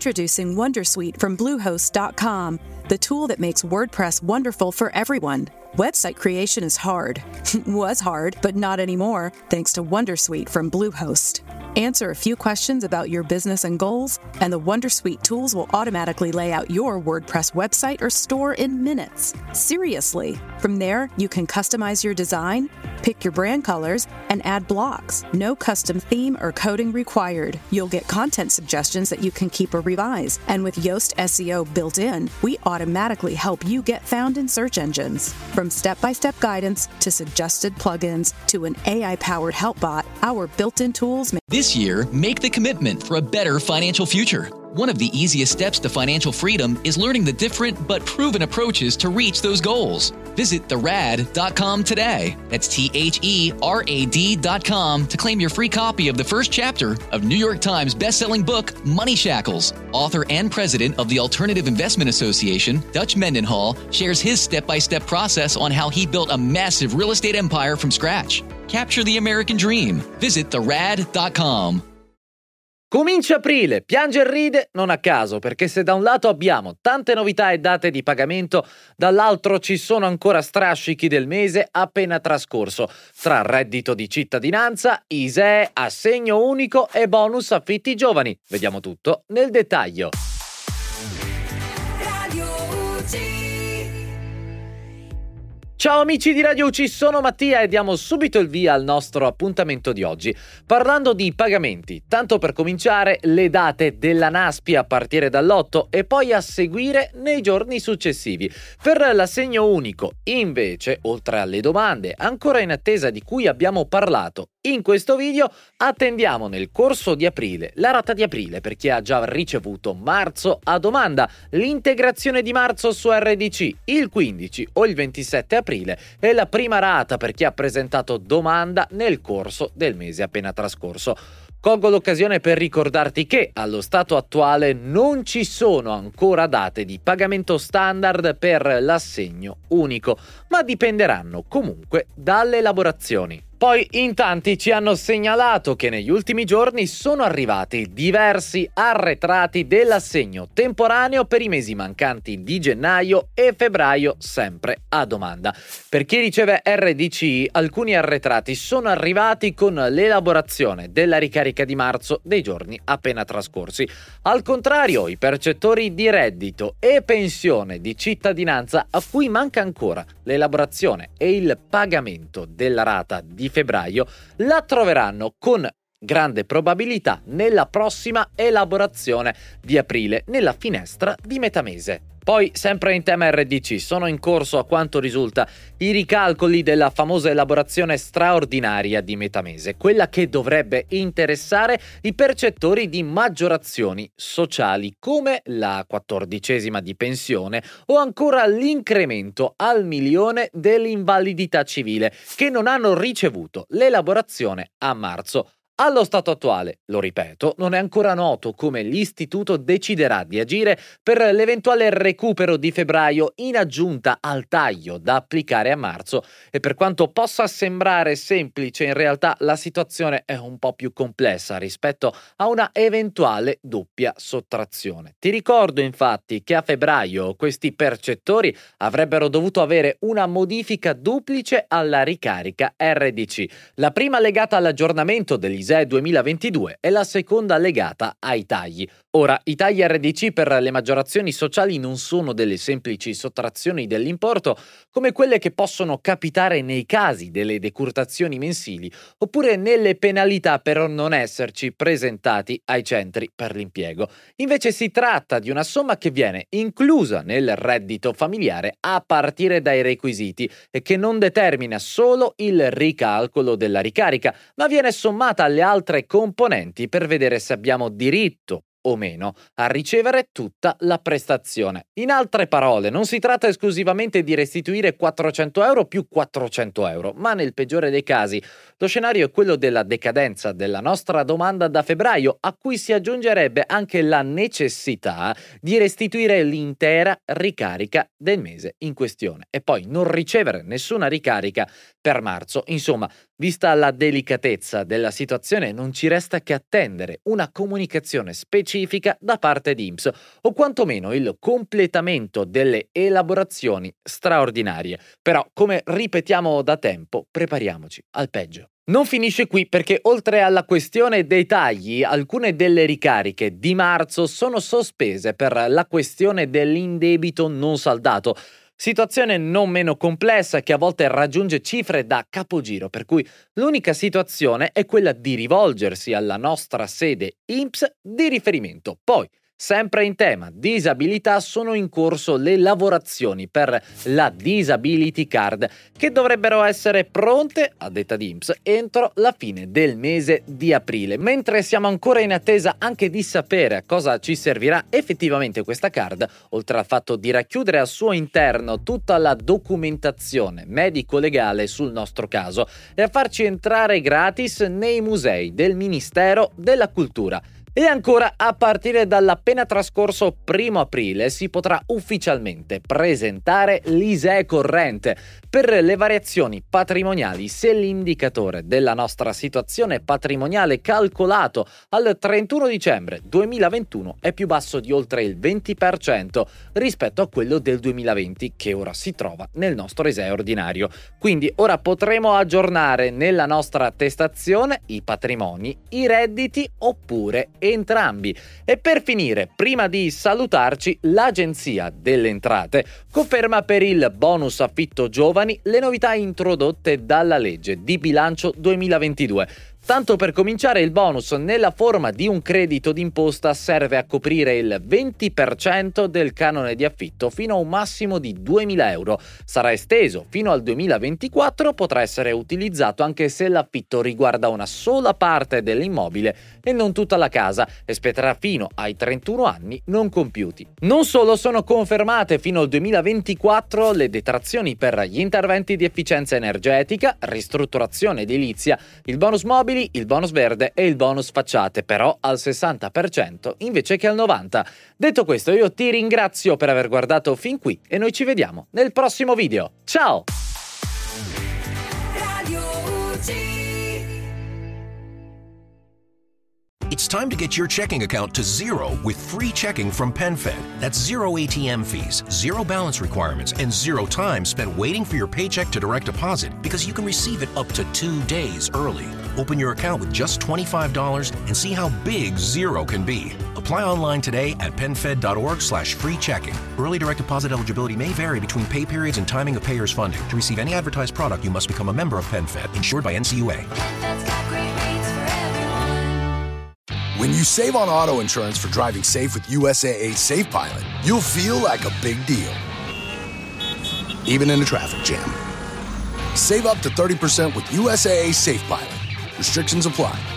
Introducing Wondersuite from Bluehost.com, the tool that makes WordPress wonderful for everyone. Website creation is hard. Was hard, but not anymore, thanks to Wondersuite from Bluehost. Answer a few questions about your business and goals, and the Wondersuite tools will automatically lay out your WordPress website or store in minutes. Seriously. From there, you can customize your design, pick your brand colors, and add blocks. No custom theme or coding required. You'll get content suggestions that you can keep or revise. And with Yoast SEO built in, we automatically help you get found in search engines. From step-by-step guidance to suggested plugins to an AI-powered help bot, our built-in tools make... This year, make the commitment for a better financial future. One of the easiest steps to financial freedom is learning the different but proven approaches to reach those goals. Visit therad.com today. That's THERAD.com to claim your free copy of the first chapter of New York Times bestselling book, Money Shackles. Author and president of the Alternative Investment Association, Dutch Mendenhall, shares his step-by-step process on how he built a massive real estate empire from scratch. Capture the American dream. Visit therad.com. Comincia aprile, piange e ride non a caso, perché se da un lato abbiamo tante novità e date di pagamento, dall'altro ci sono ancora strascichi del mese appena trascorso, tra reddito di cittadinanza, ISEE, assegno unico e bonus affitti giovani. Vediamo tutto nel dettaglio. Ciao amici di Radio UC, sono Mattia e diamo subito il via al nostro appuntamento di oggi, parlando di pagamenti, tanto per cominciare le date della NASPI a partire dall'8 e poi a seguire nei giorni successivi. Per l'assegno unico, invece, oltre alle domande ancora in attesa di cui abbiamo parlato in questo video, attendiamo nel corso di aprile la rata di aprile per chi ha già ricevuto marzo a domanda, l'integrazione di marzo su RDC il 15 o il 27 aprile e la prima rata per chi ha presentato domanda nel corso del mese appena trascorso. Colgo l'occasione per ricordarti che allo stato attuale non ci sono ancora date di pagamento standard per l'assegno unico, ma dipenderanno comunque dalle elaborazioni. Poi in tanti ci hanno segnalato che negli ultimi giorni sono arrivati diversi arretrati dell'assegno temporaneo per i mesi mancanti di gennaio e febbraio, sempre a domanda. Per chi riceve RDC, alcuni arretrati sono arrivati con l'elaborazione della ricarica di marzo dei giorni appena trascorsi. Al contrario, i percettori di reddito e pensione di cittadinanza a cui manca ancora l'elaborazione e il pagamento della rata di febbraio la troveranno con grande probabilità nella prossima elaborazione di aprile, nella finestra di metà mese. Poi, sempre in tema RDC, sono in corso, a quanto risulta, i ricalcoli della famosa elaborazione straordinaria di metà mese, quella che dovrebbe interessare i percettori di maggiorazioni sociali, come la 14ª di pensione o ancora l'incremento al 1.000.000 dell'invalidità civile, che non hanno ricevuto l'elaborazione a marzo. Allo stato attuale, lo ripeto, non è ancora noto come l'istituto deciderà di agire per l'eventuale recupero di febbraio in aggiunta al taglio da applicare a marzo e per quanto possa sembrare semplice, in realtà la situazione è un po' più complessa rispetto a una eventuale doppia sottrazione. Ti ricordo infatti che a febbraio questi percettori avrebbero dovuto avere una modifica duplice alla ricarica RDC, la prima legata all'aggiornamento degli ISEE 2022 e la seconda legata ai tagli. Ora, i tagli RDC per le maggiorazioni sociali non sono delle semplici sottrazioni dell'importo come quelle che possono capitare nei casi delle decurtazioni mensili oppure nelle penalità per non esserci presentati ai centri per l'impiego. Invece si tratta di una somma che viene inclusa nel reddito familiare a partire dai requisiti e che non determina solo il ricalcolo della ricarica, ma viene sommata alle altre componenti per vedere se abbiamo diritto o meno a ricevere tutta la prestazione. In altre parole, non si tratta esclusivamente di restituire 400 euro più 400 euro, ma nel peggiore dei casi lo scenario è quello della decadenza della nostra domanda da febbraio, a cui si aggiungerebbe anche la necessità di restituire l'intera ricarica del mese in questione e poi non ricevere nessuna ricarica per marzo. Insomma, vista la delicatezza della situazione, non ci resta che attendere una comunicazione specifica da parte di INPS o quantomeno il completamento delle elaborazioni straordinarie. Però, come ripetiamo da tempo, prepariamoci al peggio. Non finisce qui perché oltre alla questione dei tagli, alcune delle ricariche di marzo sono sospese per la questione dell'indebito non saldato. Situazione non meno complessa che a volte raggiunge cifre da capogiro, per cui l'unica situazione è quella di rivolgersi alla nostra sede INPS di riferimento. Poi, sempre in tema disabilità, sono in corso le lavorazioni per la Disability Card che dovrebbero essere pronte, a detta di INPS, entro la fine del mese di aprile, mentre siamo ancora in attesa anche di sapere a cosa ci servirà effettivamente questa card, oltre al fatto di racchiudere al suo interno tutta la documentazione medico-legale sul nostro caso e a farci entrare gratis nei musei del Ministero della Cultura. E ancora, a partire dall'appena trascorso 1 aprile si potrà ufficialmente presentare l'ISEE corrente per le variazioni patrimoniali se l'indicatore della nostra situazione patrimoniale calcolato al 31 dicembre 2021 è più basso di oltre il 20% rispetto a quello del 2020 che ora si trova nel nostro ISEE ordinario. Quindi ora potremo aggiornare nella nostra attestazione i patrimoni, i redditi oppure entrambi. E per finire, prima di salutarci, l'Agenzia delle Entrate conferma per il bonus affitto giovani le novità introdotte dalla legge di bilancio 2022. Tanto per cominciare, il bonus nella forma di un credito d'imposta serve a coprire il 20% del canone di affitto fino a un massimo di 2.000 euro. Sarà esteso fino al 2024, potrà essere utilizzato anche se l'affitto riguarda una sola parte dell'immobile e non tutta la casa e spetterà fino ai 31 anni non compiuti. Non solo, sono confermate fino al 2024 le detrazioni per gli interventi di efficienza energetica, ristrutturazione edilizia, il bonus mobili, il bonus verde e il bonus facciate, però al 60% invece che al 90%. Detto questo, io ti ringrazio per aver guardato fin qui e noi ci vediamo nel prossimo video. Ciao! It's time to get your checking account to zero with free checking from PenFed. That's zero ATM fees, zero balance requirements, and zero time spent waiting for your paycheck to direct deposit because you can receive it up to 2 days early. Open your account with just $25 and see how big zero can be. Apply online today at PenFed.org/free checking. Early direct deposit eligibility may vary between pay periods and timing of payers' funding. To receive any advertised product, you must become a member of PenFed, insured by NCUA. When you save on auto insurance for driving safe with USAA Safe Pilot, you'll feel like a big deal, even in a traffic jam. Save up to 30% with USAA Safe Pilot. Restrictions apply.